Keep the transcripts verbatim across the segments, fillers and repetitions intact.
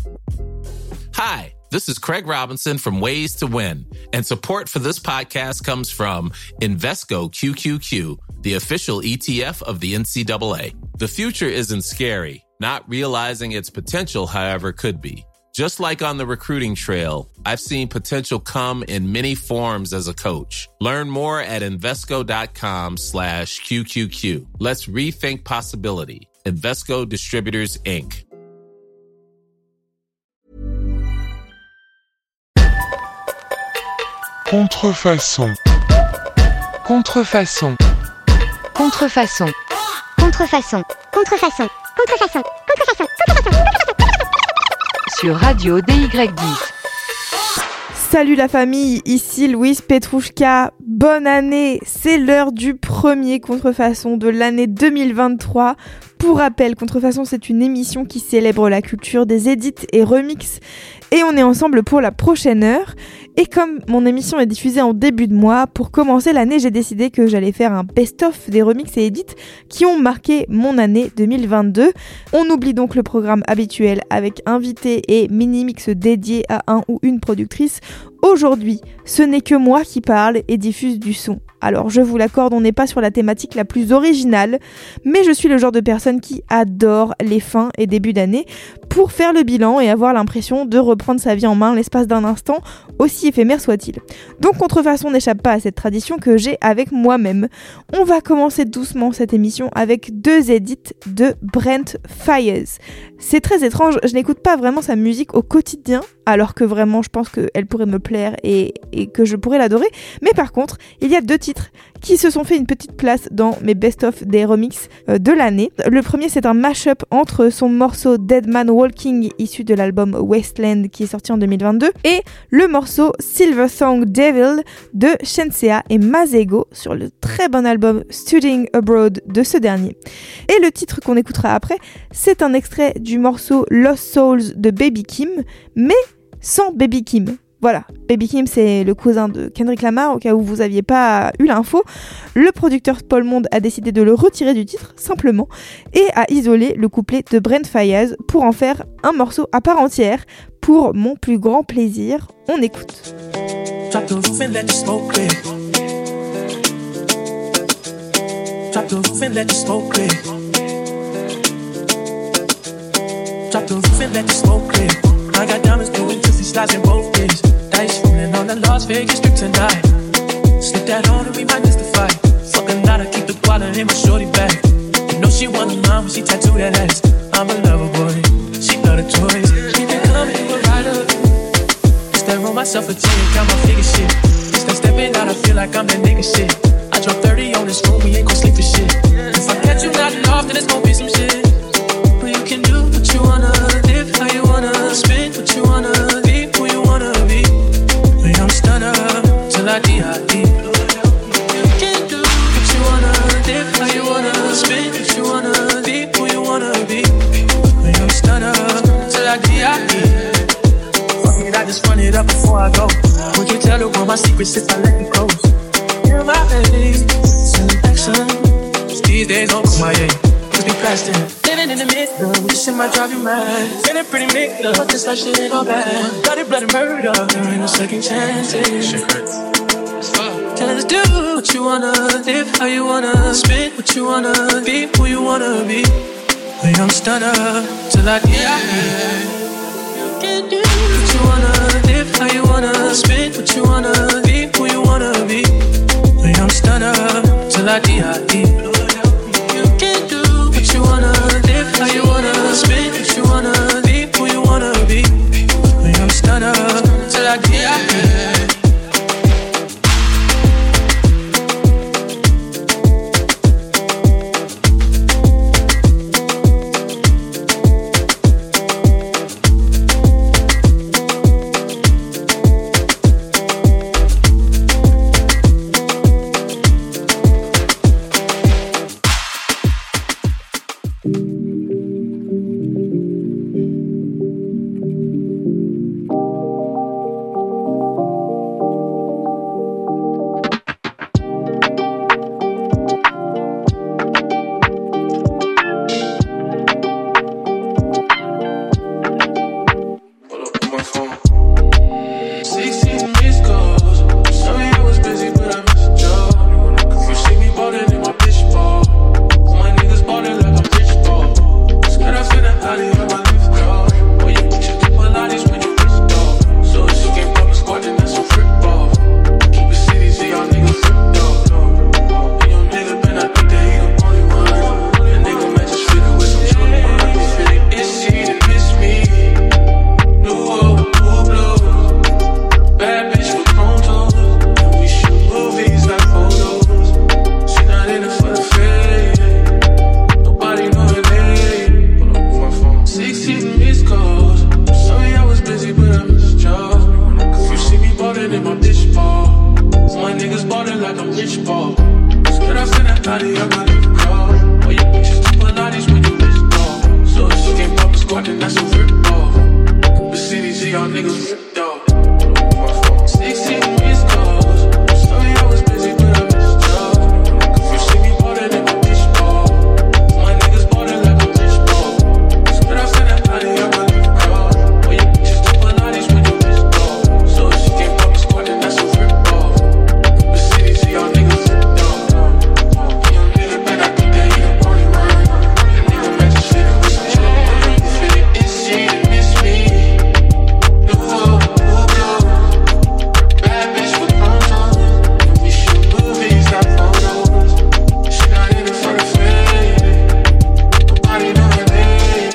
Hi, this is Craig Robinson from Ways to Win, and support for this podcast comes from Invesco Q Q Q, the official E T F of the N C double A. The future isn't scary. Not realizing its potential, however, could be. Just like on the recruiting trail, I've seen potential come in many forms as a coach. Learn more at Invesco.com slash QQQ. Let's rethink possibility. Invesco Distributors, Incorporated. Contrefaçon. Contrefaçon. Contrefaçon. Contrefaçon. Contrefaçon. Contrefaçon. Contrefaçon. Contrefaçon. Sur Radio D Y dix. Salut la famille, ici Louise Petrouchka. Bonne année, c'est l'heure du premier Contrefaçon de l'année deux mille vingt-trois. Pour rappel, Contrefaçon, c'est une émission qui célèbre la culture des edits et remixes. Et on est ensemble pour la prochaine heure. Et comme mon émission est diffusée en début de mois, pour commencer l'année, j'ai décidé que j'allais faire un best-of des remixes et edits qui ont marqué mon année deux mille vingt-deux. On oublie donc le programme habituel avec invités et mini-mix dédiés à un ou une productrice. Aujourd'hui, ce n'est que moi qui parle et diffuse du son. Alors je vous l'accorde, on n'est pas sur la thématique la plus originale, mais je suis le genre de personne qui adore les fins et débuts d'année pour faire le bilan et avoir l'impression de reprendre sa vie en main l'espace d'un instant, aussi éphémère soit-il. Donc Contrefaçon n'échappe pas à cette tradition que j'ai avec moi-même. On va commencer doucement cette émission avec deux edits de Brent Faiyaz. C'est très étrange, je n'écoute pas vraiment sa musique au quotidien, alors que vraiment je pense qu'elle pourrait me plaire et, et que je pourrais l'adorer, mais par contre, il y a deux titres qui se sont fait une petite place dans mes best-of des remixes euh, de l'année. Le premier, c'est un mash-up entre son morceau Dead Man Walking, issu de l'album Wasteland qui est sorti en deux mille vingt-deux, et le morceau Silver Song Devil de Shenseea et Masego sur le très bon album Studying Abroad de ce dernier. Et le titre qu'on écoutera après, c'est un extrait du morceau Lost Souls de Baby Kim, mais sans Baby Kim. Voilà, Baby Kim, c'est le cousin de Kendrick Lamar, au cas où vous n'aviez pas eu l'info. Le producteur Paul Monde a décidé de le retirer du titre, simplement, et a isolé le couplet de Brent Faiyaz pour en faire un morceau à part entière. Pour mon plus grand plaisir, on écoute. Drop the roof and let the smoke clear. Drop the roof and let the smoke clear. Drop the roof and let the smoke clear. I got diamonds doing juicy slides in both days. Dice rolling on the Las Vegas strip tonight. Slip that on and we might miss the fight. Fucking loud, I keep the wallet in my shorty bag. You know she want a mom when she tattoo that ass. I'm a lover boy, she love the toys. Keep it coming, you a rider. It's that roll myself a chain, count my figure shit. It's that stepping out, I feel like I'm that nigga shit. I drop thirty on this room, we ain't gon' sleep for shit. If I catch you nodding off, then it's gon' be some shit. But you can do what you wanna, live how you wanna, spit what you wanna, be who you wanna be. But I'm stunner till I D I D. You can do what you wanna, live how you wanna, spit what you wanna, be who you wanna be. But I'm stunner till I D I D. Fuck it, I just run it up before I go. Would you tell the world my secrets if I let you go? You're my baby, selection. These days don't come my way. Be plastic, living in the middle. This shit might drive you mad. Feeling pretty mixed up, but this life shit ain't all bad. Bloody, bloody murder, there ain't no second chances. Shit hurts. Tell us do what you wanna, live how you wanna, spit what you wanna, be who you wanna be. But I'm stunner till I die. You can do what you wanna, live how you wanna, spit what you wanna, be who you wanna be. But I'm stunner till I die. You wanna live how you wanna, spit what you wanna, be who you wanna be. But I'm stunner till I get niggas ripped off. sixteen missed calls. Sorry I was busy, but I missed y'all. You see me ballin' in my bitch ball. My niggas ballin' like a rich ball. Spit off in that body, I'm a leave call. Well, you bitches do Pilates when you miss ball. So if she can't fuck a squad, then that's a rip off. The city, see y'all niggas ripped off. Young nigga, man, I think that he the only one. That nigga match shit with some joke. If it is she, then miss me. No, no, no. Bad bitch with photos. We shoot movies, not photos. She not in it for the fame. Nobody know her name.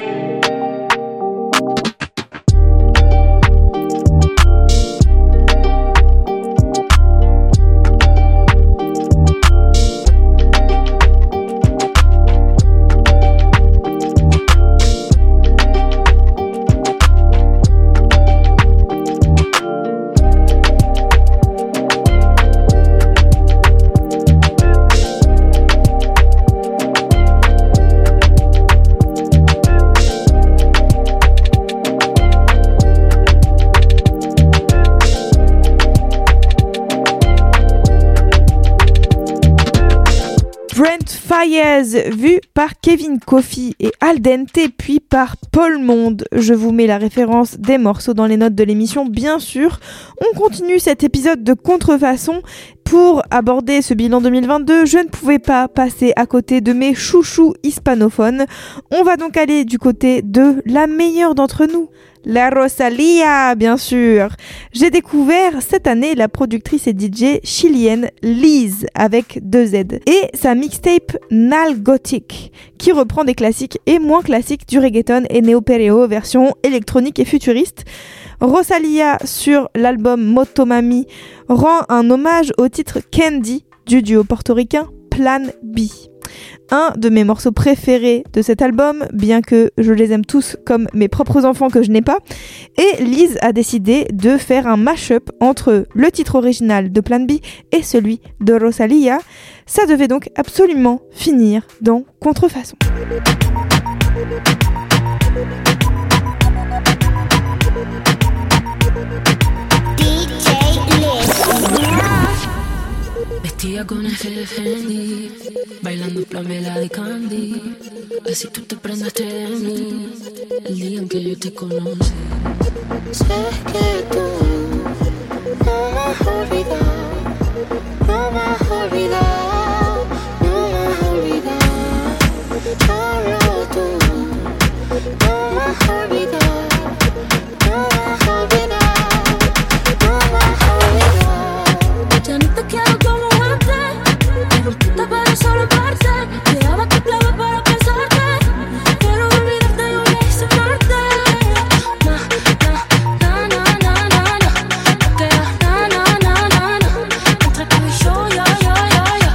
Brent Faiyaz, vu par Kevin Kofi et Al Dente, puis par Paul Monde. Je vous mets la référence des morceaux dans les notes de l'émission, bien sûr. On continue cet épisode de contrefaçon. Pour aborder ce bilan deux mille vingt-deux, je ne pouvais pas passer à côté de mes chouchous hispanophones. On va donc aller du côté de la meilleure d'entre nous, la Rosalía, bien sûr. J'ai découvert cette année la productrice et D J chilienne Liz avec deux Z et sa mixtape Nal Gothic qui reprend des classiques et moins classiques du reggaeton et néo-perreo version électronique et futuriste. Rosalía sur l'album Motomami rend un hommage au titre Candy du duo portoricain Plan B. Un de mes morceaux préférés de cet album, bien que je les aime tous comme mes propres enfants que je n'ai pas. Et Liz a décidé de faire un mash-up entre le titre original de Plan B et celui de Rosalía. Ça devait donc absolument finir dans Contrefaçon. Vestida con ese Fendi, bailando Pamela de Candy. Así tú te prendaste de mí el día en que yo te conocí. Sé que tú no me has olvidado, no me has olvidado, no me has olvidado. Solo tú no me has olvidado, no me has olvidado, no me has olvidado. Ya no te quiero como pero solo parte, quedaba que clave para pensarte. Quiero olvidarte y voy a extrañarte. Na, na, na, na, na, na, na. Queda na, na, na, na, na. Entre tú y yo, yo, yo, yo, yo.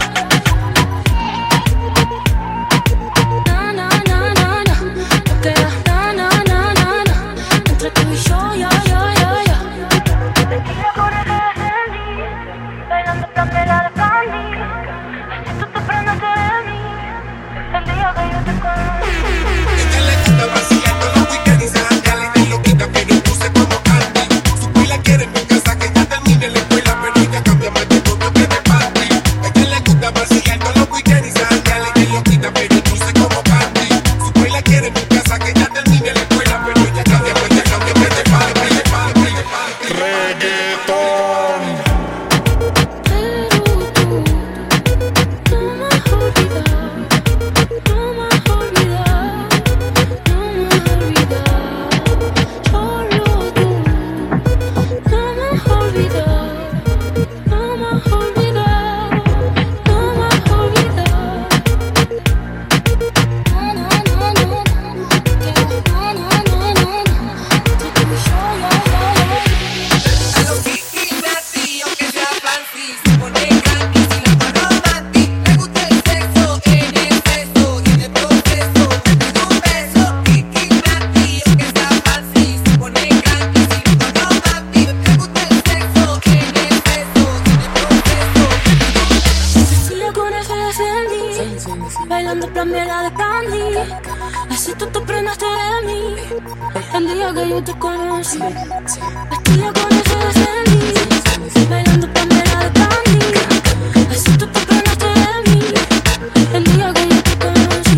yo te conocí. Vestida con ojos de mí, bailando Pamela de Candy. Así tú te prendiste de mí, el día que yo te conocí.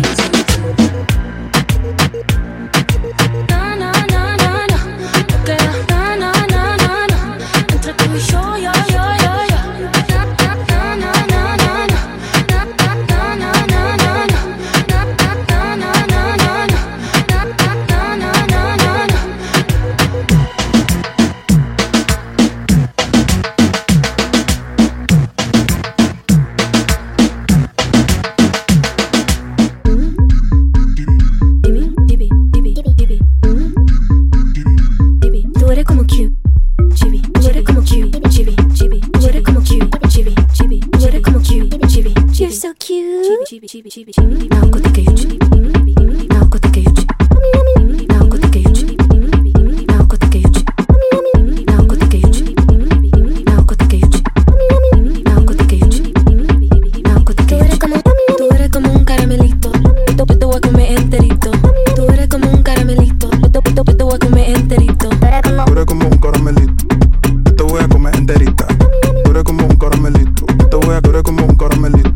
Na, na, na, na, na, no queda na, na, na, na, na, entre tú y yo, yo, yo, yo, yo. Na, na, na, na, na, na, na, na, na, na, na, na. You're so cute. Now go take a huge. Now go take a huge. Now go take a huge. Now go take a huge. Now go take a huge. Now go take a huge. Now go take a huge. Now go take a huge. Tú eres como un caramelito. Yo te voy a comer enterito. Tú eres como un caramelito. Yo te voy a comer enterito. Tú eres como un caramelito. Te voy a comer enterita. Tú eres como un caramelito. Te voy a comer como un caramelito.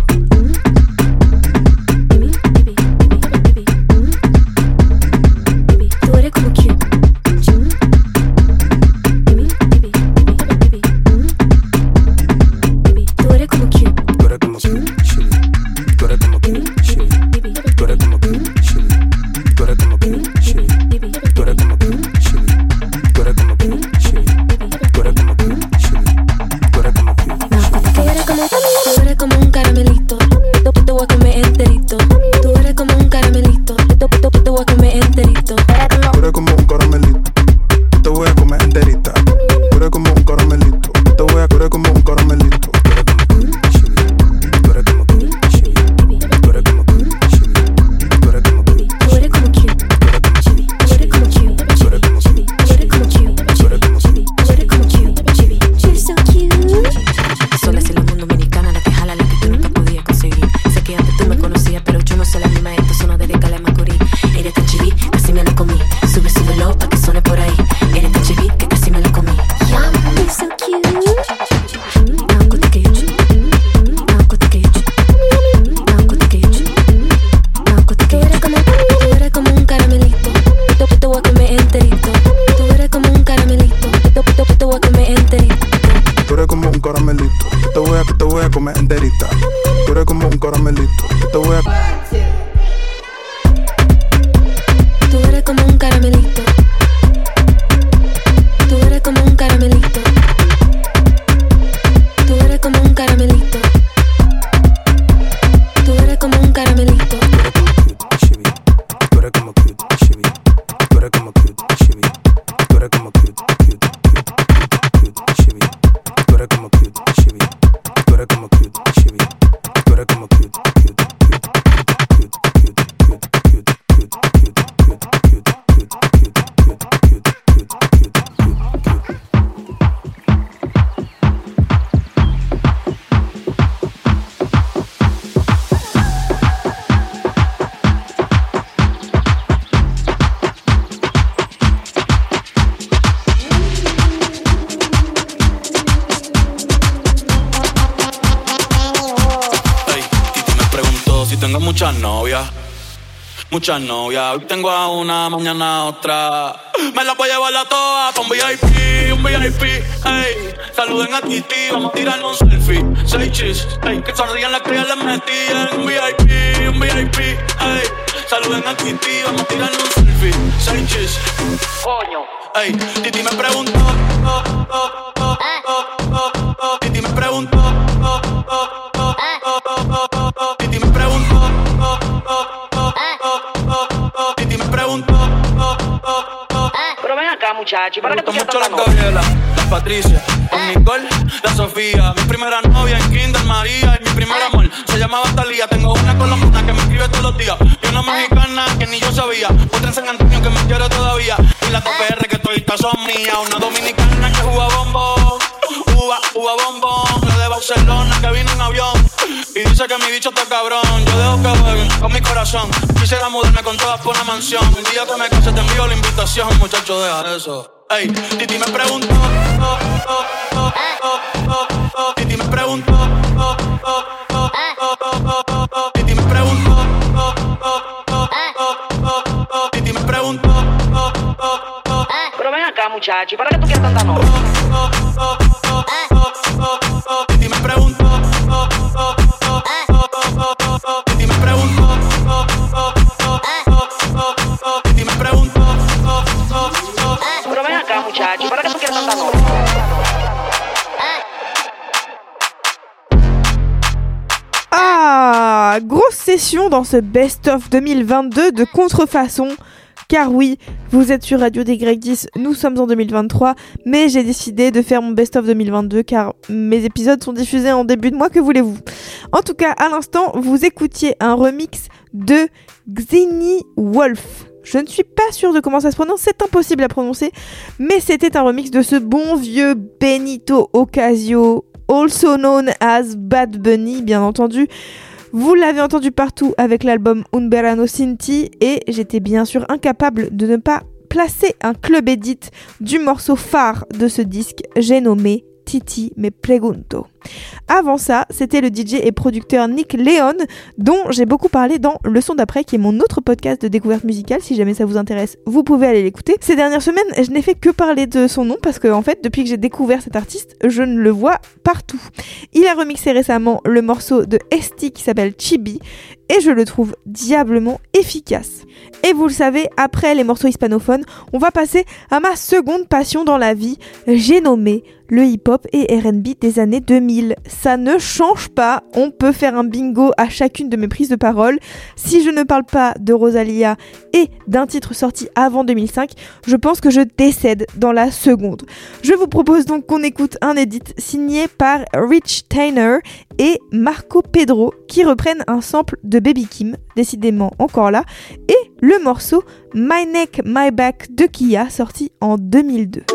Muchas novias, muchas novias. Hoy tengo a una, mañana a otra. Me la voy a llevar a todas pa' un V I P, un V I P. Ey, saluden a Titi, vamos a tirarle un selfie. Seis chis, ey, que sonrían las que ya les metí. Un V I P, un V I P. Ey, saluden a Titi, vamos a tirarle un selfie. Seis chis, coño. Ey, Titi me preguntó, oh, oh, oh, oh, oh, oh, oh. Titi me preguntó, oh, oh, oh, oh, oh, oh, oh. Titi me preguntó, oh, oh, oh, oh, oh, oh. Titi me preguntó, oh, oh, oh. Pero ven acá, muchacho, ¿para qué tú mucho estás la tan Gabriela, la Patricia, la Nicole, la Sofía. Mi primera novia en Kinder María y mi primer amor se llamaba Talía. Tengo una colombiana que me escribe todos los días y una mexicana que ni yo sabía. Otra en San Antonio que me quiere todavía y la T P R que todavía son mías. Una dominicana que juega bombón, uva, uva bombón. La de Barcelona que vino en avión y Dice que mi bicho está cabrón. Yo dejo que jueguen con mi corazón. Quisiera mudarme con todas por una mansión. El día que me case te envío la invitación. Muchacho, deja eso. Ey, Titi me preguntó oh, oh, oh, oh, oh, oh. Titi me preguntó oh, oh, oh, oh, oh, oh. Titi me preguntó oh, oh, oh, oh, oh. Titi me preguntó oh, oh, oh. Pero ven acá, muchacho, ¿para qué tú quieres tanta novia? Oh, oh, oh, oh, oh, oh. Titi me preguntó oh, oh, oh, oh, oh, oh. Titi me preguntó oh, oh, oh, oh, oh. Titi me preguntó oh, oh, oh. Pero ven acá, muchacho, ¿para qué tú quieres tanta novia? Ah, grosse session dans ce best-of deux mille vingt-deux de Contrefaçon. Car oui, vous êtes sur Radio D Y dix, nous sommes en deux mille vingt-trois, mais j'ai décidé de faire mon best-of deux mille vingt-deux car mes épisodes sont diffusés en début de mois, que voulez-vous. En tout cas, à l'instant, vous écoutiez un remix de Xini Wolf. Je ne suis pas sûre de comment ça se prononce, c'est impossible à prononcer, mais c'était un remix de ce bon vieux Benito Ocasio, also known as Bad Bunny, bien entendu. Vous l'avez entendu partout avec l'album Un Verano Sin Ti et j'étais bien sûr incapable de ne pas placer un club edit du morceau phare de ce disque, j'ai nommé Titi Me Pregunto. Avant ça, c'était le D J et producteur Nick Leon, dont j'ai beaucoup parlé dans Le Son d'après, qui est mon autre podcast de découverte musicale. Si jamais ça vous intéresse, vous pouvez aller l'écouter. Ces dernières semaines, je n'ai fait que parler de son nom parce que, en fait, depuis que j'ai découvert cet artiste, je ne le vois partout. Il a remixé récemment le morceau de Esti qui s'appelle Chibi et je le trouve diablement efficace. Et vous le savez, après les morceaux hispanophones, on va passer à ma seconde passion dans la vie. J'ai nommé le hip-hop et R and B des années deux mille. Ça ne change pas, on peut faire un bingo à chacune de mes prises de parole. Si je ne parle pas de Rosalia et d'un titre sorti avant deux mille cinq, je pense que je décède dans la seconde. Je vous propose donc qu'on écoute un edit signé par Rich Tainer et Marco Pedro qui reprennent un sample de Baby Kim, décidément encore là, et le morceau My Neck, My Back de Kia sorti en deux mille deux.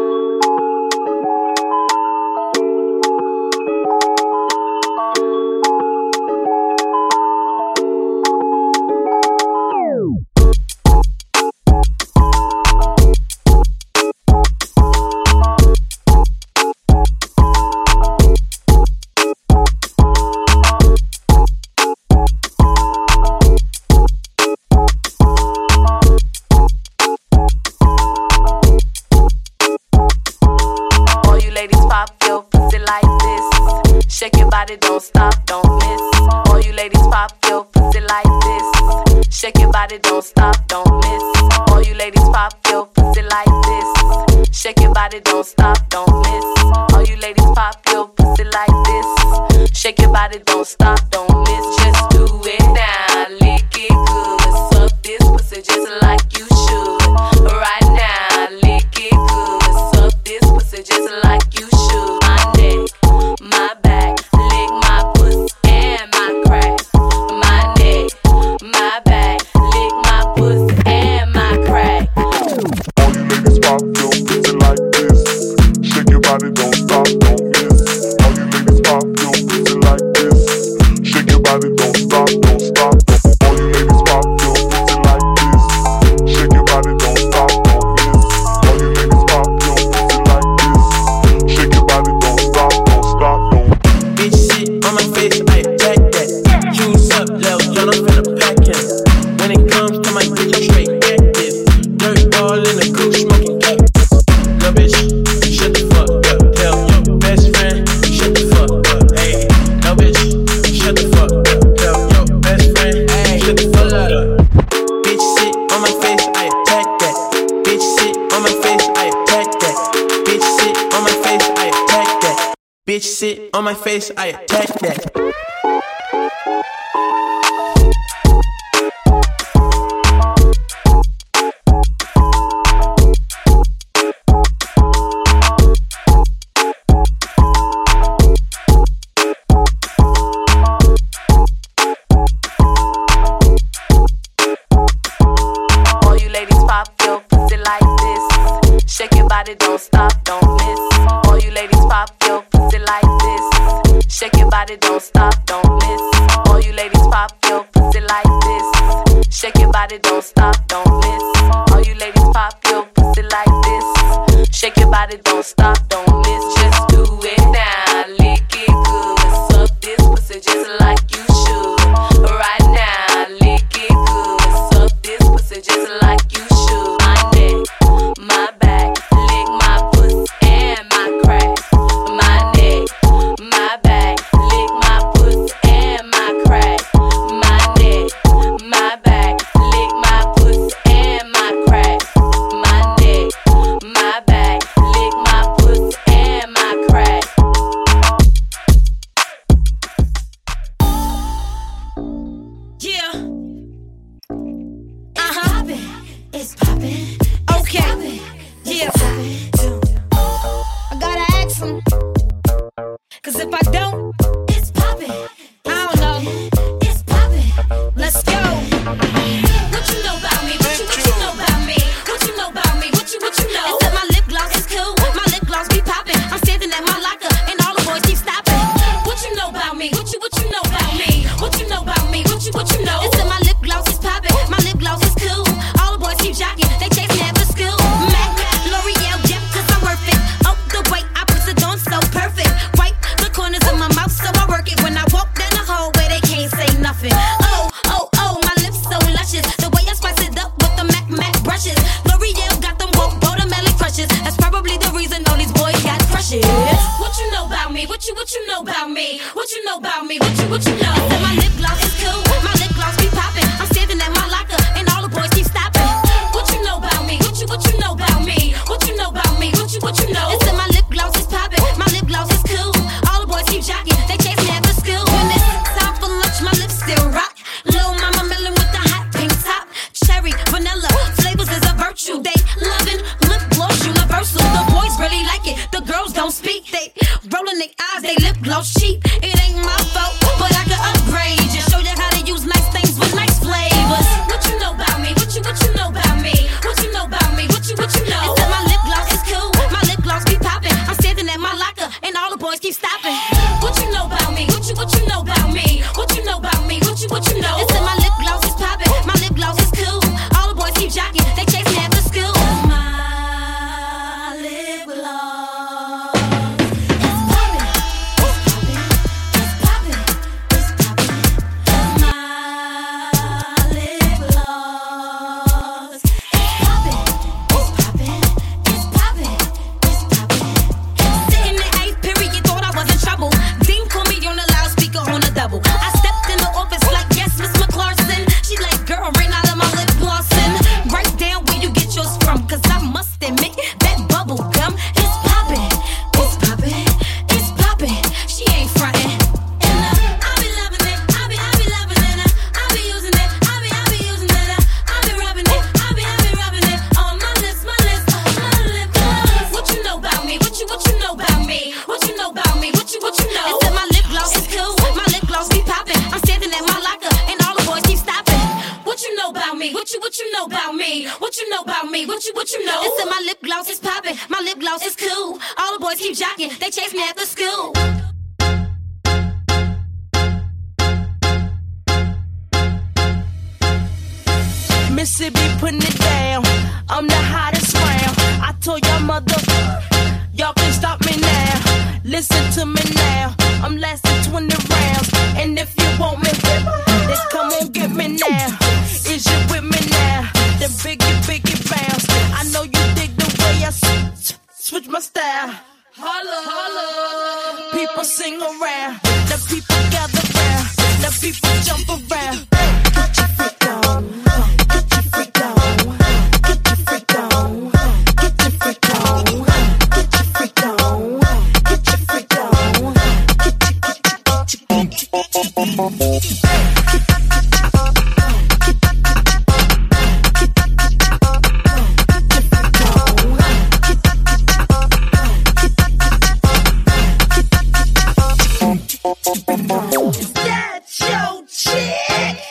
Don't stop, don't miss. All you ladies pop your pussy like this. Shake your body, don't stop, don't miss. All you ladies pop your pussy like this. Shake your body, don't stop, don't miss. All you ladies pop your pussy like this. Shake your body, don't stop, don't miss. Just do it now, lick it good. Suck this pussy just like you should. Right now, lick it good. Suck this pussy just like you should. My neck, my back. Bitch sit on my face, I attack that. All you ladies pop your pussy like this. Shake your body, don't stop, don't miss. All you ladies pop your pussy like this. Shake your body, don't stop, don't miss. All All you ladies pop your pussy like this. Shake your body, don't stop, don't miss. All you ladies pop your pussy like this. Shake your body, don't stop, don't miss. Just do it now, lick it good. Suck this pussy just like you should. Right now, lick it good. Suck this pussy just like you should. My neck, my back, lick my pussy and my crack. My neck, my back, lick my pussy and my crack. My neck, my back, lick my pussy and my crack. My neck, my back, lick my pussy and my crack. Yeah. Uh-huh. It's poppin'. Okay. Yeah. I gotta ask him. Cause if I don't, it's poppin'. I don't know. It's poppin'. Let's go. What you know about me? What you, what you know about me? What you know about me? What you, what you know? Except my lip gloss is cool. My lip gloss be poppin'. I'm standing at my locker and all the boys keep stopping. What you know about me? What you, what you know about me? What you know about me? What you, what you know? Except my lip gloss is poppin'. My lip gloss is cool. All the boys keep jocking. They chase me after school. Mac, L'Oreal, Jeff, cause I'm worth it. Oh, the way I put it on so perfect. Wipe the corners of my mouth so I work it. When I walk down the hallway, they can't say nothing. Oh, oh, oh, my lips so luscious. The way I spice it up with the Mac Mac brushes. L'Oreal got them woke watermelon crushes. That's probably the reason all these boys got crushes. What you know about me? What you, what you know about me? What you know about me? What you, what you know? I said my lip gloss is cool. My lip gloss be poppin'. I'm standing at my locker and all the boys keep stopping. What you know about me? What you, what you know about me? What you know about me? What you, what you know? I said my lip gloss is poppin'. My lip gloss is cool. All the boys keep jocking. They chase me after school. When it's time for lunch, my lips still rock. Lil' mama melon with the hot pink top. Cherry, vanilla, flavors is a virtue. They lovin' lip gloss universal. The boys really like it. The girls don't speak. They rollin' their eyes. They lip gloss cheap. It ain't my fault, but I can upgrade. Just show you how to use nice things with nice flavors. What you know about me? What you, what you know about me? What you know about me? What you, what you know? Except my lip gloss is cool. My lip gloss be poppin'. I'm standing at my locker and all the boys keep stopping. What you know about me? What you, what you know about me? What you know about me? What you, what you know? Except my lip gloss is poppin'. My lip gloss is cool. All the boys keep jocking. They chase me after school. My lip gloss is poppin'. It's poppin'. It's poppin'. It's poppin'. My lip gloss is poppin'. It's poppin'. It's poppin'. It's poppin'. Sitting in eighth period, thought I was in trouble. Dean called me on the loudspeaker on a double. I stepped in the office like, yes, Miss McClarson. She like, girl, ran out of my lip glossin'. Write down where you get yours from, cause I must admit that bubble gum is poppin'. It's poppin'. It's poppin'. She ain't frontin'. And uh, I be loving it. I be, I be loving it. Uh, I be using it. I be, I be using it. Uh, I be rubbing it. I be, I be rubbing it on my lips, my lips, my lip gloss. What you know about me? What you, what you know about me? What you know about me? What you, what you know? I said my lip gloss is cool. My lip gloss be poppin'. I'm standing at my locker and all the boys keep stopping. What you know about me? What you, what you know about me? What you know about me? What you, what you know? I said my lip gloss is poppin'. My lip gloss is cool. All the boys keep jocking. They chase me after school. Mississippi putting it down. I'm the hottest round. I told y'all mother, y'all can stop me now. Listen to me now. I'm lasting twenty rounds. And if you want me, then come on get me now. Is you with me now? Then biggie, biggie bounce. I know you dig the way I s- switch my style. Holla, holla. People sing around. The people gather round. The people jump around. Get your freak on. Get your freak on. Get your freak on. Get your freak on. Get your freak on. Get your freak on. Get your, get your, get your. Is that your chick?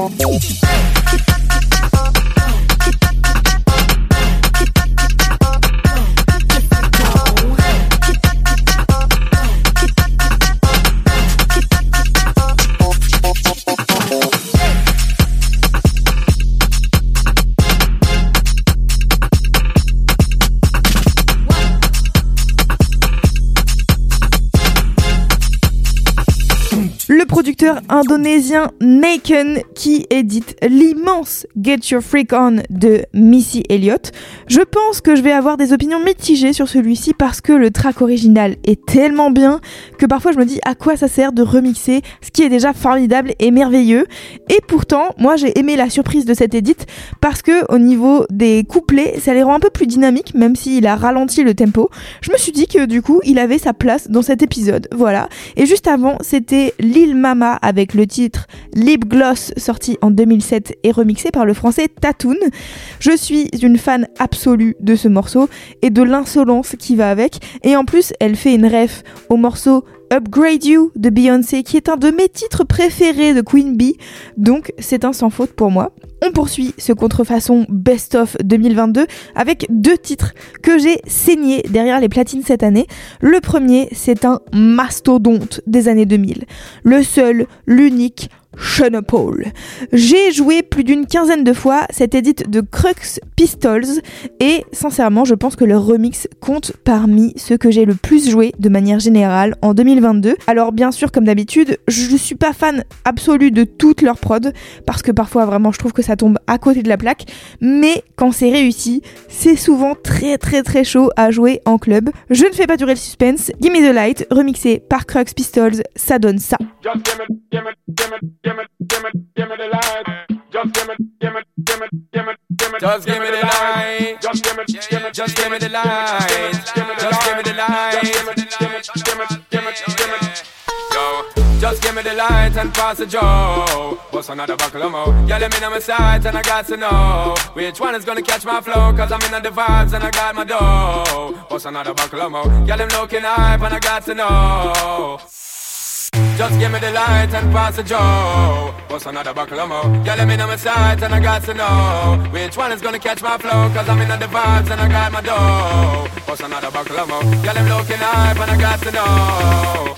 Le producteur indonésien Naken qui édite l'immense Get Your Freak On de Missy Elliott. Je pense que je vais avoir des opinions mitigées sur celui-ci parce que le track original est tellement bien que parfois je me dis à quoi ça sert de remixer ce qui est déjà formidable et merveilleux. Et pourtant, moi j'ai aimé la surprise de cette édite parce que au niveau des couplets, ça les rend un peu plus dynamiques même s'il a ralenti le tempo. Je me suis dit que du coup, il avait sa place dans cet épisode. Voilà. Et juste avant, c'était Lil Mama avec le titre Lip Gloss sorti en deux mille sept et remixé par le français Tatoon. Je suis une fan absolue de ce morceau et de l'insolence qui va avec, et en plus elle fait une ref au morceau Upgrade You de Beyoncé qui est un de mes titres préférés de Queen Bee, donc c'est un sans faute pour moi. On poursuit ce contrefaçon Best of deux mille vingt-deux avec deux titres que j'ai saignés derrière les platines cette année. Le premier, c'est un mastodonte des années deux mille. Le seul, l'unique, Sean Paul. J'ai joué plus d'une quinzaine de fois cette édite de Crux Pistols et sincèrement je pense que le remix compte parmi ceux que j'ai le plus joué de manière générale en deux mille vingt-deux. Alors bien sûr comme d'habitude je suis pas fan absolu de toutes leurs prods parce que parfois vraiment je trouve que ça tombe à côté de la plaque, mais quand c'est réussi c'est souvent très très très chaud à jouer en club. Je ne fais pas durer le suspense, Gimme the Light remixé par Crux Pistols, ça donne ça. Just give me, give me, give me, give me, give me, give me the light. Just give me, give me, give me, give me, give me, just give me the light. Just give me, give me, just give me the light. Just give me the light. Just give me, give me, give me, give me, give me. Yo, just give me the light and pass the joe. What's another buckle of mo? Yeah, let me know my sight and I got to know which one is gonna catch my flow. Cause I'm in the vibes and I got my dough. What's another buckle of mo? Yeah, them looking hype and I got to know. Just give me the light and pass the joe. What's another buckle of mo? Yeah, let me know my sight and I got to know which one is gonna catch my flow. Cause I'm in the vibes and I got my dough. What's another buckle of mo? Yeah, them looking hype and I got to know.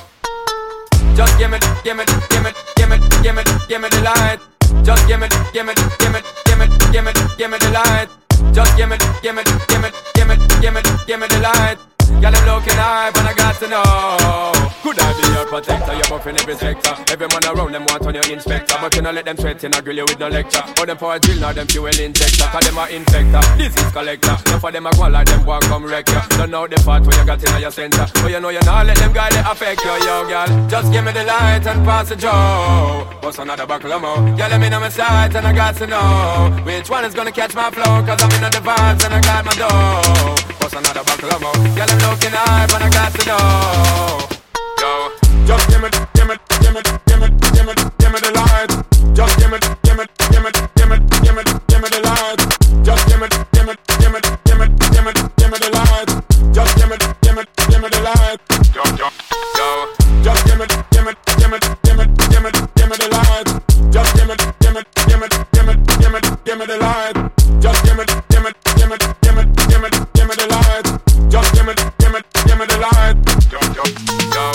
Just give me, give me, give me, give me, give me, give me the light. Just give me, give me, give me, give me, give me, give me the light. Just give me, give me, give me, give me, give me, give me the light. Girl, I'm looking hype and I got to know. Could I be your protector? You're buffing every sector. Every man around them want on your inspector. But you know let them sweat in a grill you with no lecture. Or them for a drill, now them fuel injector. Cause them are infector, disease collector. None for them a go like them walk come wreck you. Don't know the part where you got in your center. But you know you not let them guys they affect you, yo girl. Just give me the light and pass the joe. What's another buckle of mo? Yeah, let me know my sight and I got to know which one is gonna catch my flow. Cause I'm in the vibes and I got my dough. What's another buckle of mo? Yeah, I'm looking hype and I got to know. Yo, just give me, give me, give me, give me, give me, give me the light. Just give me, give me, give me, give me, give me, give me the light. Just give me, give me, give me, give me, give me, give me the light. Just give me, give me, give me the light. Yo, yo, yo. Just give me, give me, give me, give me, give me, give me the light. Just give me, give me, give me, give me, give me, give me the light. Just give me, give me, give me, give me, give me, give me the light. Just give me, give me, give me the light. Yo, yo, yo.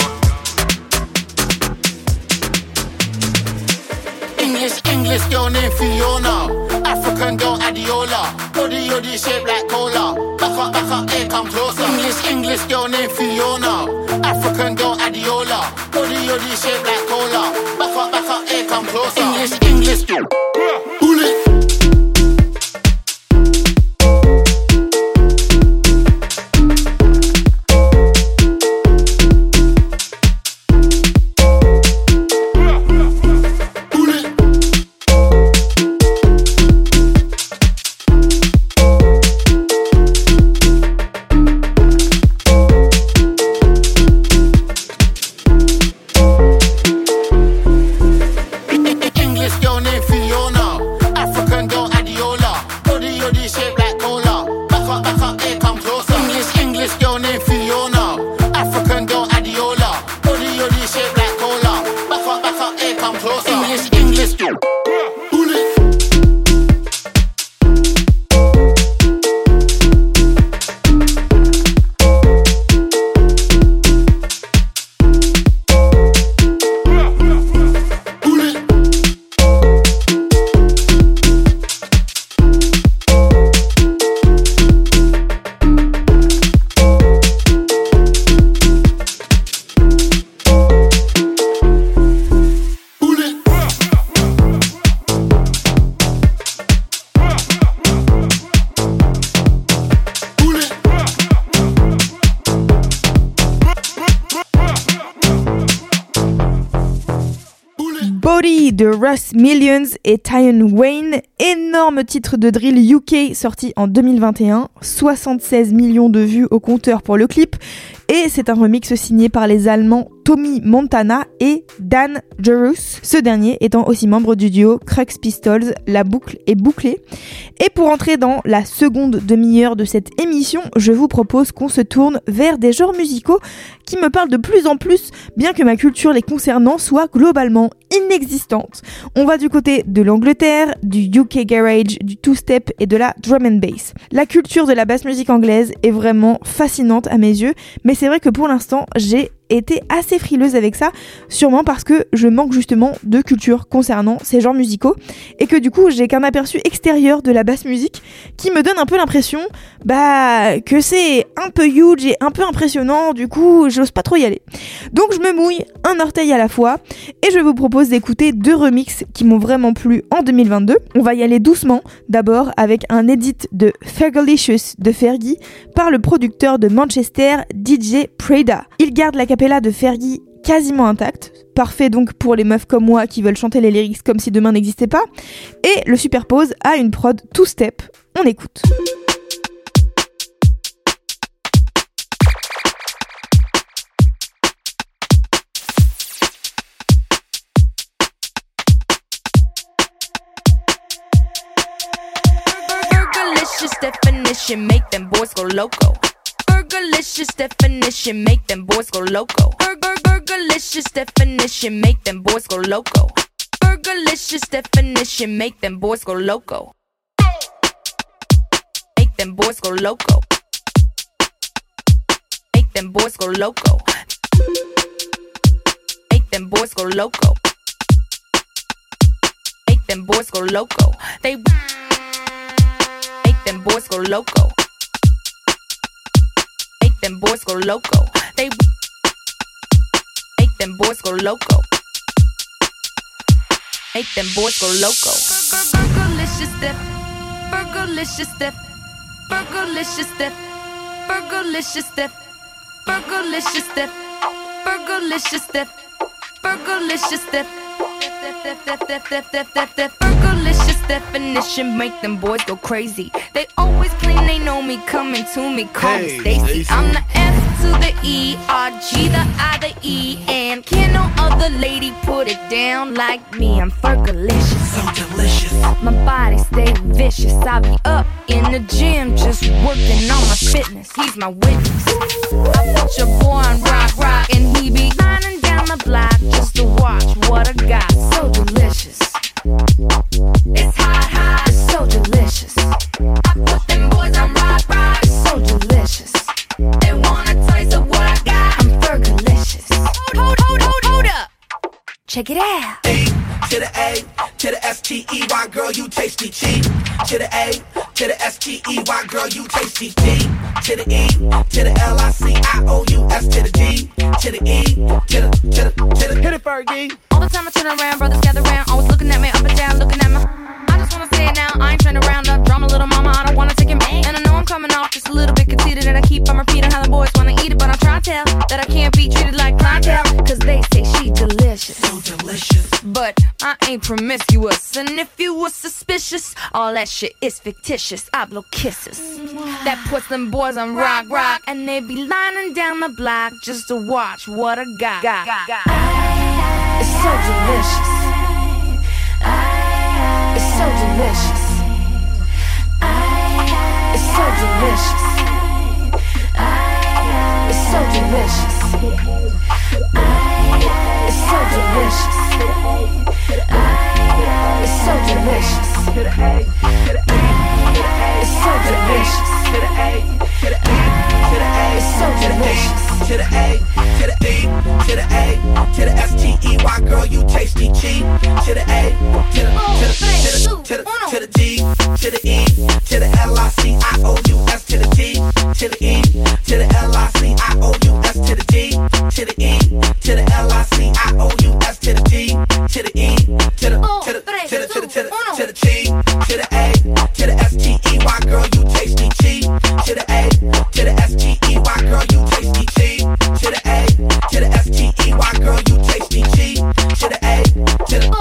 English, English girl named Fiona. African girl Adiola. Body, body shaped like cola. Back up, back up, here come closer. English, English girl named Fiona. African girl Adiola. Body, body shaped like cola. Back up, back up, here come closer. English, English girl. Pull it. English girl named Fiona. Body de Russ Millions et Tion Wayne, énorme titre de drill U K sorti en deux mille vingt et un, soixante-seize millions de vues au compteur pour le clip, et c'est un remix signé par les Allemands Tommy Montana et Dan Jerus, ce dernier étant aussi membre du duo Crux Pistols. La boucle est bouclée. Et pour entrer dans la seconde demi-heure de cette émission, je vous propose qu'on se tourne vers des genres musicaux qui me parlent de plus en plus, bien que ma culture les concernant soit globalement inexistante. On va du côté de l'Angleterre, du U K Garage, du two-step et de la drum and bass. La culture de la basse musique anglaise est vraiment fascinante à mes yeux, mais c'est vrai que pour l'instant, j'ai été assez frileuse avec ça, sûrement parce que je manque justement de culture concernant ces genres musicaux et que du coup j'ai qu'un aperçu extérieur de la basse musique qui me donne un peu l'impression bah que c'est un peu huge et un peu impressionnant, du coup j'ose pas trop y aller. Donc je me mouille un orteil à la fois et je vous propose d'écouter deux remixes qui m'ont vraiment plu en deux mille vingt-deux. On va y aller doucement, d'abord avec un edit de Fergalicious de Fergie par le producteur de Manchester D J Prada. Il garde la capella de Fergie quasiment intacte, parfait donc pour les meufs comme moi qui veulent chanter les lyrics comme si demain n'existait pas, et le superpose à une prod two-step. On écoute. Burgerlicious definition make them boys go loco. Burgerlicious definition make them boys go loco. Burgerlicious definition make them boys go loco. Burgerlicious definition make them boys go loco. Make them boys go loco. Make them boys go loco. Make them boys go loco. Make them boys go loco. They make them boys go loco. Them boys go loco. They make them boys go loco. Make them boys go loco. Burgerlicious dip, burgerlicious dip, burgerlicious dip, burgerlicious dip, burgerlicious dip, burgerlicious dip, burgerlicious dip. Burgerlicious definition make them boys go crazy. They always claim they know me, coming to me, call me Stacy. I'm the S to the E, R G, the I, the E, and can't no other lady put it down like me. I'm Fergalicious, so delicious. My body stay vicious. I be up in the gym just working on my fitness. He's my witness. I put your boy on rock, rock, and he be lining down the block just to watch what I got. So delicious. It's hot, hot. It's so delicious. I put them boys on rock, rock. It's so delicious. They want a taste of what I got. I'm Fergalicious. Hold, hold, hold, hold up. Check it out. E to the A to the S T E Y, girl, you tasty cheap. To the A to the S T E Y, girl, you tasty T. To the E to the L I C I O U S to the D to the E to the to the to the hit it, Fergie. All the time I turn around, brothers gather round, always looking at me up and down, looking at me. I just wanna say it now, I ain't trying to round up drama, little mama, I don't wanna take it back. And I know I'm coming off just a little bit conceited, and I keep on repeating how the boys wanna eat it, but I'm trying to tell that I can't be treated like clientele, cause they say she delicious, so delicious. But I ain't promiscuous, and if you were suspicious, all that shit is fictitious. I blow kisses that puts them boys on rock, rock, and they be lining down the block just to watch what I got. got, got. It's so delicious. It's so delicious. It's so delicious. It's so delicious. It's so delicious. It's so delicious. It's so delicious. It's so delicious. To the A, to the E, to the A, to the S T E Y, girl, you tasty cheap. To the A, to the to the to the to the G, to the E, to the L I C I O U S to the T, to the E, to the L I C I O U S to the D, to the E, to the L I C I O U S to the D, to the E, to the to the to the to the to the to the T, to the A, to the S T E Y, girl, you tasty cheap. To the A, to the S T E Y, girl, you tasty cheap. To the A, to the S T E Y, girl, you tasty cheap. To the A, to the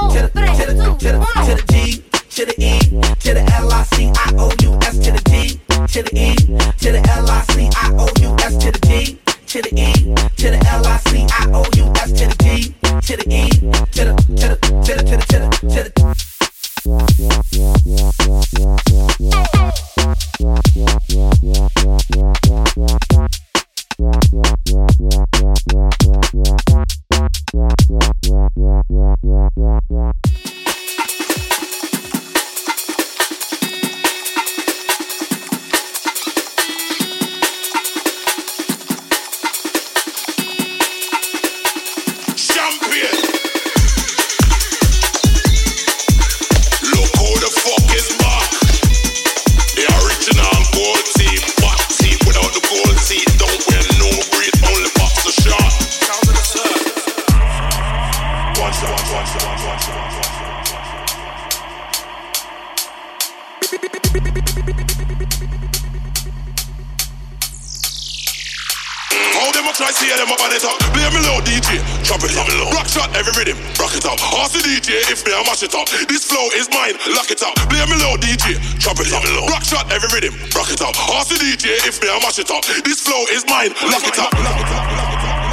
How them a try see them up on it up. Play me low D J, chop it up. Rock shot every rhythm, rock it up. Ask the D J if me I mash it up. This flow is mine, lock it up. Play me low D J, chop it up. Rock shot every rhythm, rock it up. Ask the D J if me I mash it up. This flow is mine, lock it up. Lock it up.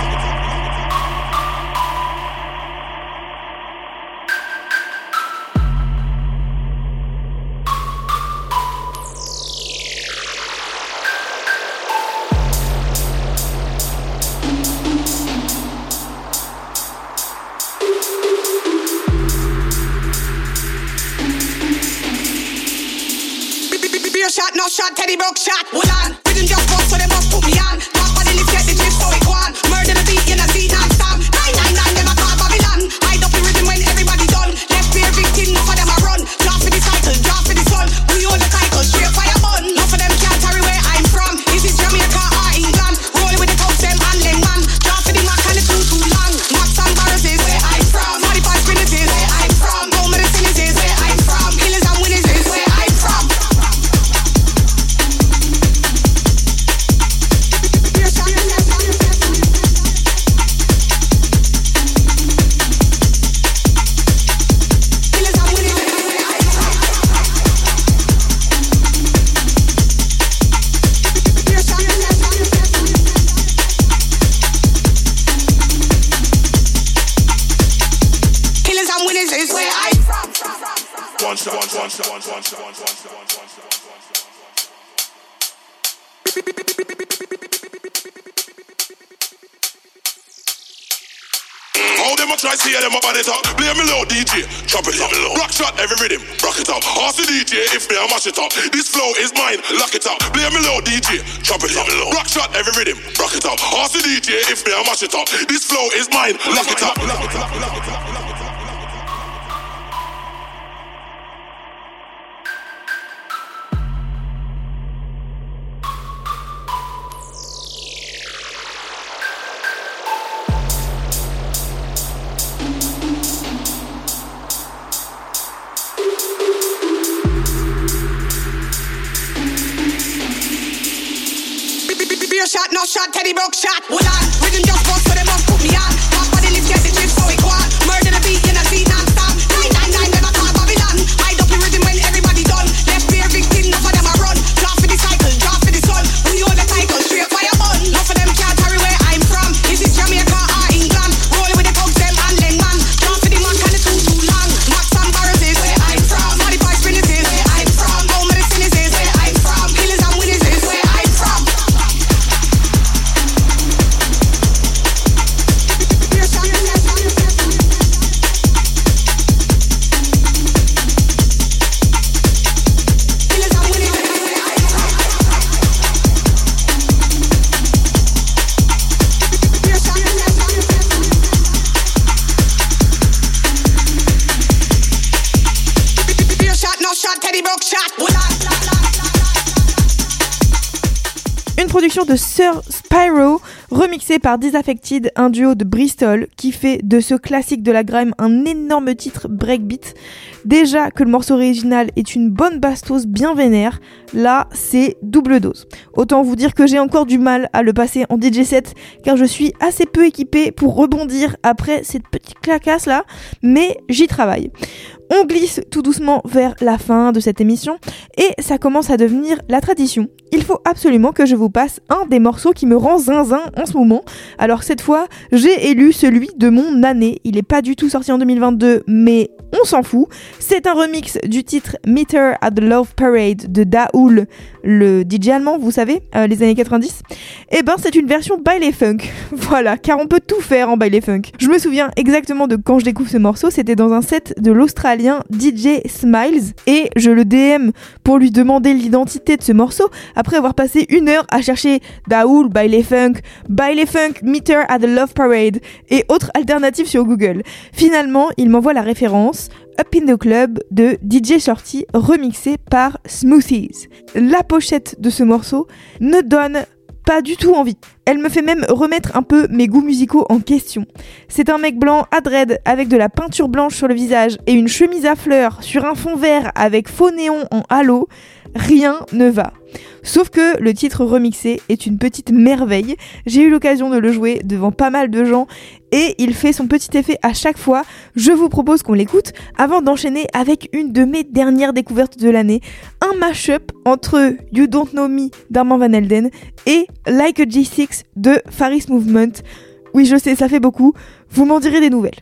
Shot, no shot, Teddy broke shot. Hold on, rhythm just bust, so they must put me on. Top of the lift, get the gist, so it go on. Murder the beat, in a seat non-stop. nine nine nine, them a call Babylon. Hide up the rhythm when everybody done. Left beer victim, no for them a run. Drop for the cycle, drop for the sun. We hold the title, straight fire bun. None for them can't carry where I'm from. Is it Jamaica or England? Rolling with the cops, them and Lengman. Drop for the Mac and the too too long. Max and Barras is where I'm from. forty-five spinners is where I'm from. Home of the sinners is where I'm from. Killers and winners is where I'm from. One shot, one shot, one shot, one shot, one shot, one shot, one shot. How them a try see them up on it up. Play me low D J, chop it up. Rock shot every rhythm, rock it up. Ask the D J if me I mash it up. This flow is mine, lock it up. Play me low D J, chop it up. Rock shot every rhythm, rock it up. Ask the D J if me I mash it up. This flow is mine, lock it up. Lock it up, lock it up, lock it up. Shot, no shot, Teddy broke shot. Hold on, rhythm just bust, so they must put me on. Top of the lift, get the gist, so it go on. Murder the beat, in a seat non-stop. nine nine nine, them a call Babylon. Hide up the rhythm when everybody done. Left beer victim, none for them a run. Drop for the cycle, drop for the sun. We hold the title, straight fire bun. None for them can't carry where I'm from. Is it Jamaica or England? Rolling with the cops, them and Lengman. Drop for the Mac and the too too long. Max and Barras is where I'm from. forty-five spinners is where I'm from. Home of the sinners is where I'm from. Killers and winners is where I'm from. Une production de Sir Spyro, remixée par Disaffected, un duo de Bristol, qui fait de ce classique de la grime un énorme titre breakbeat. Déjà que le morceau original est une bonne bastos bien vénère, là c'est double dose. Autant vous dire que j'ai encore du mal à le passer en D J set, car je suis assez peu équipée pour rebondir après cette petite clacasse là, mais j'y travaille. On glisse tout doucement vers la fin de cette émission et ça commence à devenir la tradition. Il faut absolument que je vous passe un des morceaux qui me rend zinzin en ce moment. Alors cette fois, j'ai élu celui de mon année. Il est pas du tout sorti en deux mille vingt-deux, mais on s'en fout. C'est un remix du titre Meter at the Love Parade de Daoul, le D J allemand, vous savez, euh, les années quatre-vingt-dix. Et ben c'est une version baile funk. Voilà, car on peut tout faire en baile funk. Je me souviens exactement de quand je découvre ce morceau, c'était dans un set de l'Australien D J Smiles et je le D M pour lui demander l'identité de ce morceau après avoir passé une heure à chercher Daoul, baile funk, baile funk, Meter at the Love Parade et autres alternatives sur Google. Finalement, il m'envoie la référence Up in the Club de D J Shorty remixé par Smoothies. La pochette de ce morceau ne donne pas du tout envie. Elle me fait même remettre un peu mes goûts musicaux en question. C'est un mec blanc à dread avec de la peinture blanche sur le visage et une chemise à fleurs sur un fond vert avec faux néon en halo. Rien ne va. Sauf que le titre remixé est une petite merveille. J'ai eu l'occasion de le jouer devant pas mal de gens et il fait son petit effet à chaque fois. Je vous propose qu'on l'écoute avant d'enchaîner avec une de mes dernières découvertes de l'année. Un mash-up entre You Don't Know Me d'Armand Van Helden et Like a G six de Faris Movement. Oui, je sais, ça fait beaucoup. Vous m'en direz des nouvelles.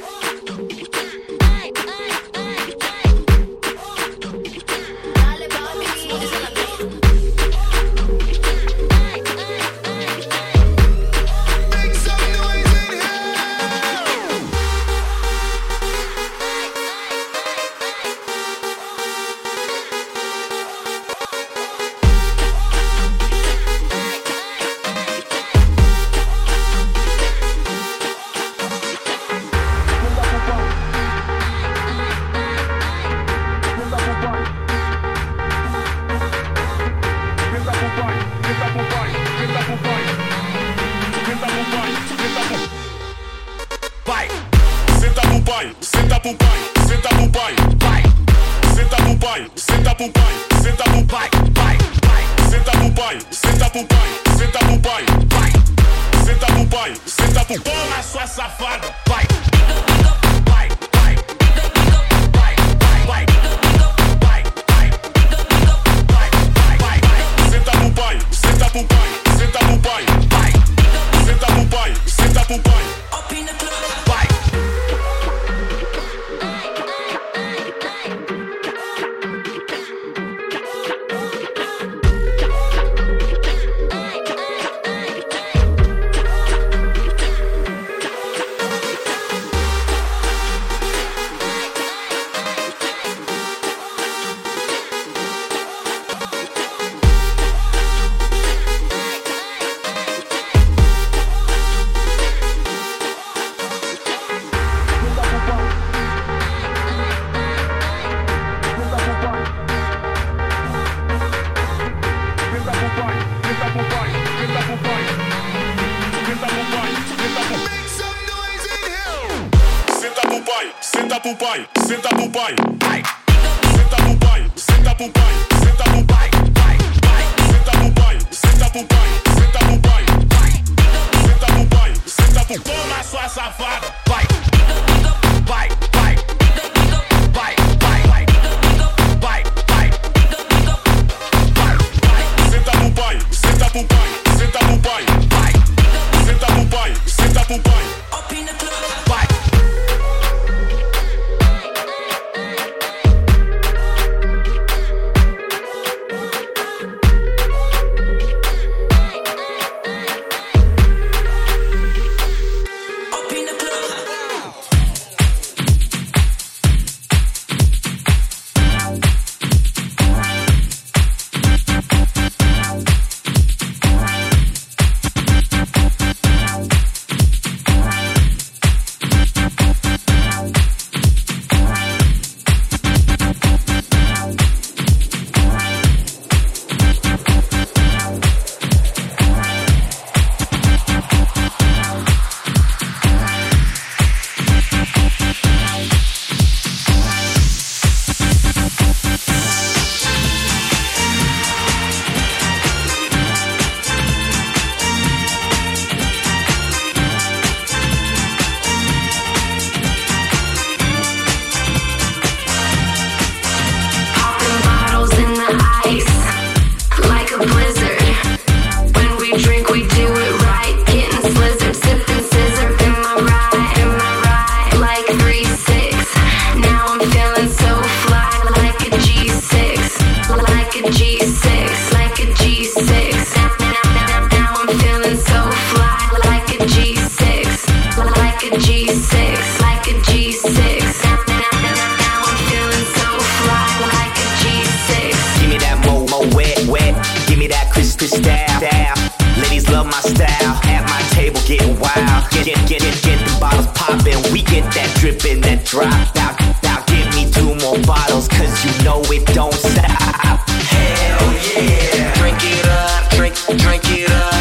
Dripping that drop out, now give me two more bottles, cause you know it don't stop. Hell yeah. Drink it up, drink, drink it up.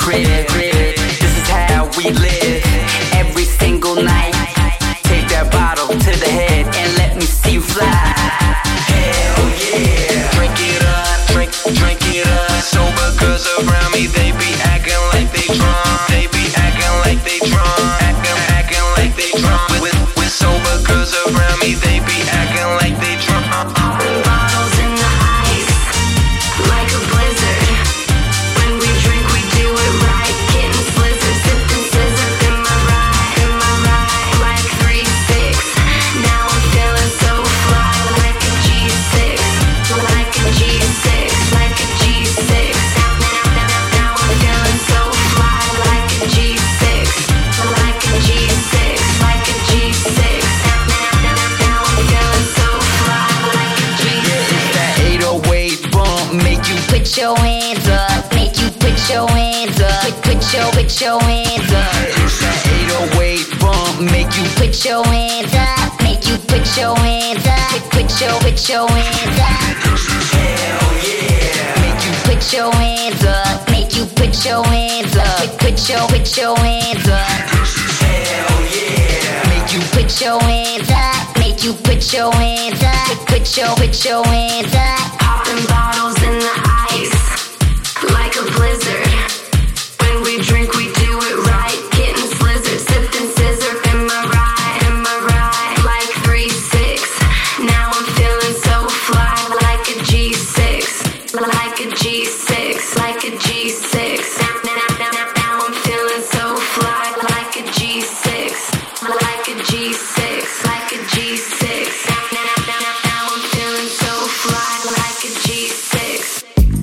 crib. This is how we live every single night. Take that bottle to the head and let me see you fly. Hell yeah. Drink it up, drink, drink it up. Sober girls around me, they be acting like they drunk. They be acting like they drunk. Acting, acting like they drunk. With, with sober girls around me, they be acting like they drunk. Popping bottles in the ice, like a blizzard. When we drink, we do it right. Getting slizzard, sipping scissor. In my ride, in my ride, like three six. Now I'm feeling so fly, like a G six, like a G six, like a G six. Now, now, now, now I'm feeling so fly, like a G six, like a G six, like a G six. Now, now, now, now I'm feeling so fly, like a G six. That eight oh eight bump make you put your hands up, make you put your hands up, put, put your, put your hands up. It's that eight oh eight bump make you put your hands up, make you put your hands up, put, put your, put your hands up. Hell yeah. Make you put your hands up, make you put your hands up, put, put your, put your hands up. Hell yeah. Make you put your hands up, make you put your hands up, put, put your, put your hands up. Popping bottles in the ice, like a blizzard. When we drink, we do it right. Getting slizzard, sipping scissor. In my ride, in my ride, like three six. Now I'm feeling so fly, like a G six, like a G six, like a G six. Now, now, now, now, now I'm feeling so fly, like a G six, like a G six, like a G six. Now, now, now, now, now I'm feeling so fly, like a G six.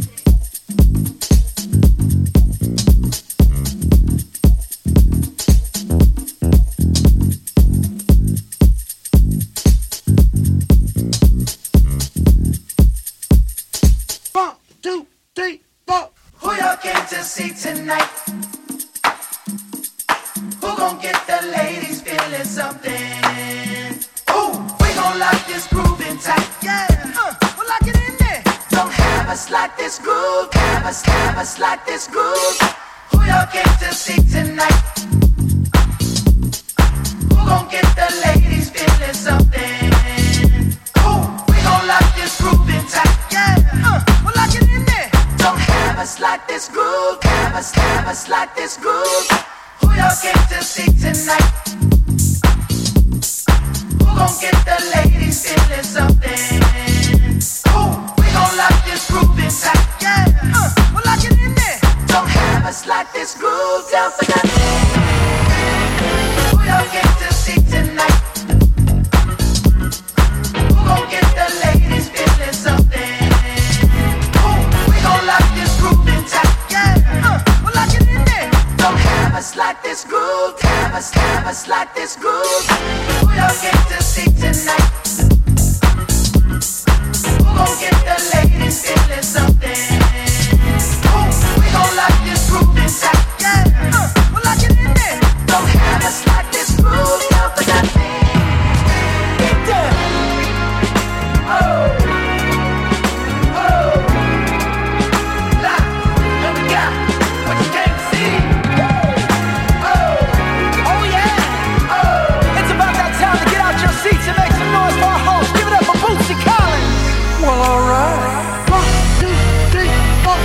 One, two, three, four. Who y'all came to see tonight? Who gon' get the ladies feeling something? Ooh, we gon' lock this groove in tight. Yeah, uh, we'll lock it in there. Don't have us like this groove. Have us, have us like this groove. Who y'all came to see tonight? Who gon' get the ladies feeling something? Ooh, we gon' lock this groove in tight. Yeah, uh, we'll lock it in there. Don't have us like this groove. Have us, have us like this groove. Who y'all came to see tonight? Who gon' get the ladies feeling something? Ooh, we gon' lock this groove in tight. Yeah, uh, we'll lock it in there. Don't have us like this groove down for nothing. Who y'all came to see tonight? Who gon' get the ladies feeling something? Ooh, we gon' lock this groove in tight. Yeah, uh, we'll lock it in there. Don't have us like this groove. Have us, have us like this groove. Who y'all came to see tonight? Who gon' get the ladies feeling something? Ooh, we gon' lock this groove in tight. Yeah, uh, we'll lock it in there. Don't have us like this groove. Down for nothing. Get down. Oh, oh, lock. And we got what you came to see. Seats and make some noise for our host. Give it up for Bootsy Collins. Well, alright. One, two, three, four.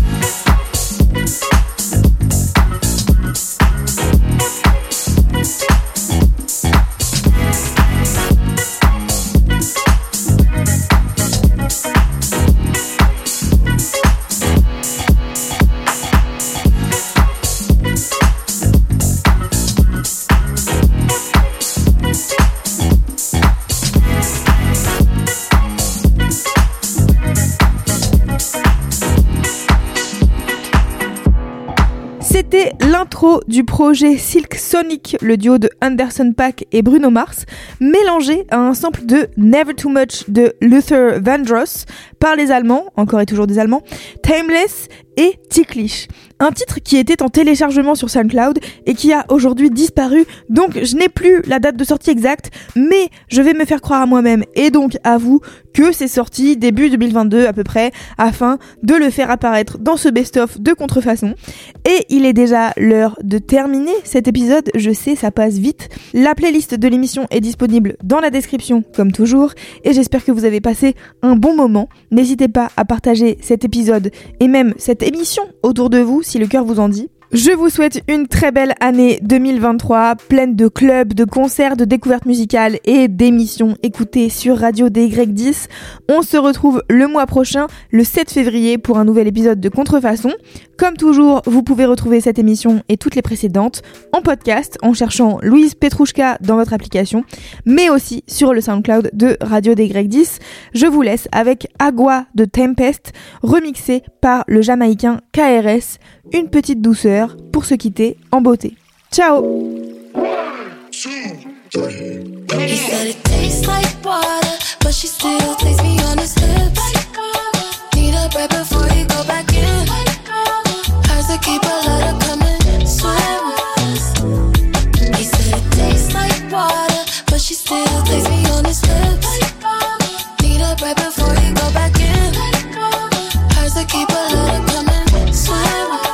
C'était l'intro du projet Silk Sonic, le duo de Anderson .Paak et Bruno Mars, mélangé à un sample de Never Too Much de Luther Vandross par les Allemands, encore et toujours des Allemands, Timeless et Ticklish. Un titre qui était en téléchargement sur SoundCloud et qui a aujourd'hui disparu, donc je n'ai plus la date de sortie exacte, mais je vais me faire croire à moi-même et donc à vous que c'est sorti début deux mille vingt-deux à peu près, afin de le faire apparaître dans ce best-of de Contrefaçon. Et il il est déjà l'heure de terminer cet épisode. Je sais, ça passe vite. La playlist de l'émission est disponible dans la description, comme toujours, et j'espère que vous avez passé un bon moment. N'hésitez pas à partager cet épisode et même cette émission autour de vous si le cœur vous en dit. Je vous souhaite une très belle année deux mille vingt-trois, pleine de clubs, de concerts, de découvertes musicales et d'émissions écoutées sur Radio D Y dix. On se retrouve le mois prochain, le sept février, pour un nouvel épisode de Contrefaçon. Comme toujours, vous pouvez retrouver cette émission et toutes les précédentes en podcast en cherchant Louise Petrouchka dans votre application, mais aussi sur le SoundCloud de Radio D Y dix. Je vous laisse avec Agua de Tempest, remixé par le Jamaïcain K R S. Une petite douceur pour se quitter en beauté. Ciao! He said it tastes like water, but she still takes me on his lips. Need a break before he go back in. Hers to keep a letter coming, swim with us. He said it tastes like water, but she still takes me on his lips. Need a break before he go back in. Hers to keep a letter coming, swim with us.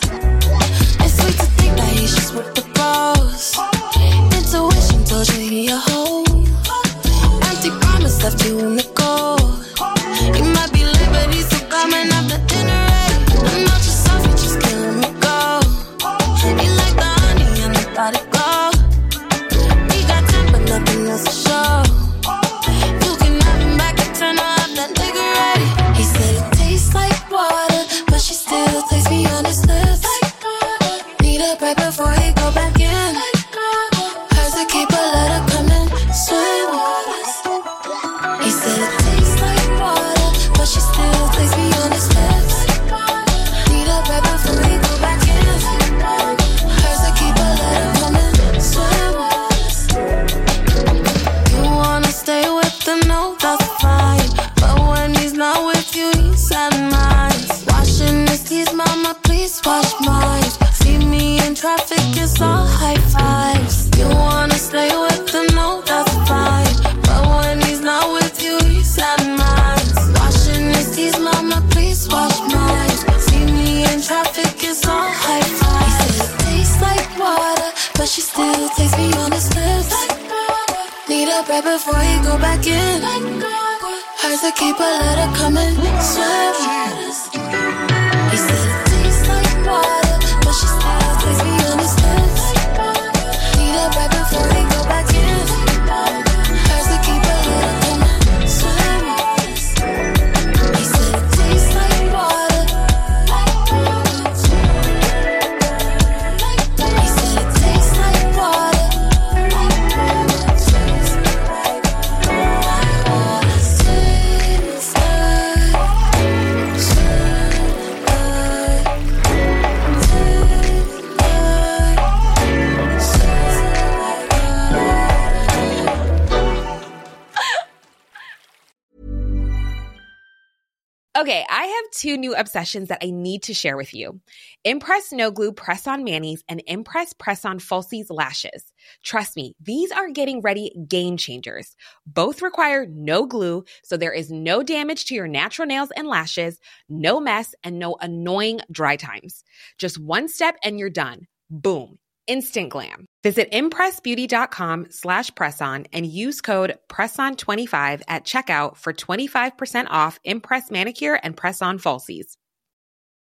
With the balls, intuition told you he a hoe. Empty promise left you in the cold. He might be late, but he's still coming after dinner. I'm not yourself, you're just killing me go. He like the honey and the body go. He got time, but nothing else to show. You can have him back and turn off that nigga ready. He said it tastes like water, but she still takes me on his lips. Need a break before he go back in. Hers to keep a letter coming, swim with us. He said it tastes like water, but she still takes me on his lips. Need a break before he go back in. Hers to keep a letter coming, swim with us. You wanna stay with him, no, that's fine. But when he's not with you, he's at mine. Washing his teeth, mama, please wash mine. See me in traffic, it's all high fives. You wanna stay with him, no, that's fine. But when he's not with you, he's at mine. Washing his teeth, mama, please wash mine. See me in traffic, it's all high fives. He said it tastes like water, but she still takes me on his lips. Need a break before he go back in. Hers to keep a letter coming, swim with us. He said it tastes like water, but she still takes me on his lips. Need a break before he go back in. Hers to keep a letter coming, swim with us. He said it tastes like water. He said it tastes like water. Okay, I have two new obsessions that I need to share with you. Impress No Glue Press-On Manis and Impress Press-On Falsies Lashes. Trust me, these are getting ready game changers. Both require no glue, so there is no damage to your natural nails and lashes, no mess, and no annoying dry times. Just one step and you're done. Boom. Instant glam. Visit impressbeauty.com slash presson and use code presson twenty-five at checkout for twenty-five percent off Impress Manicure and Press-On Falsies.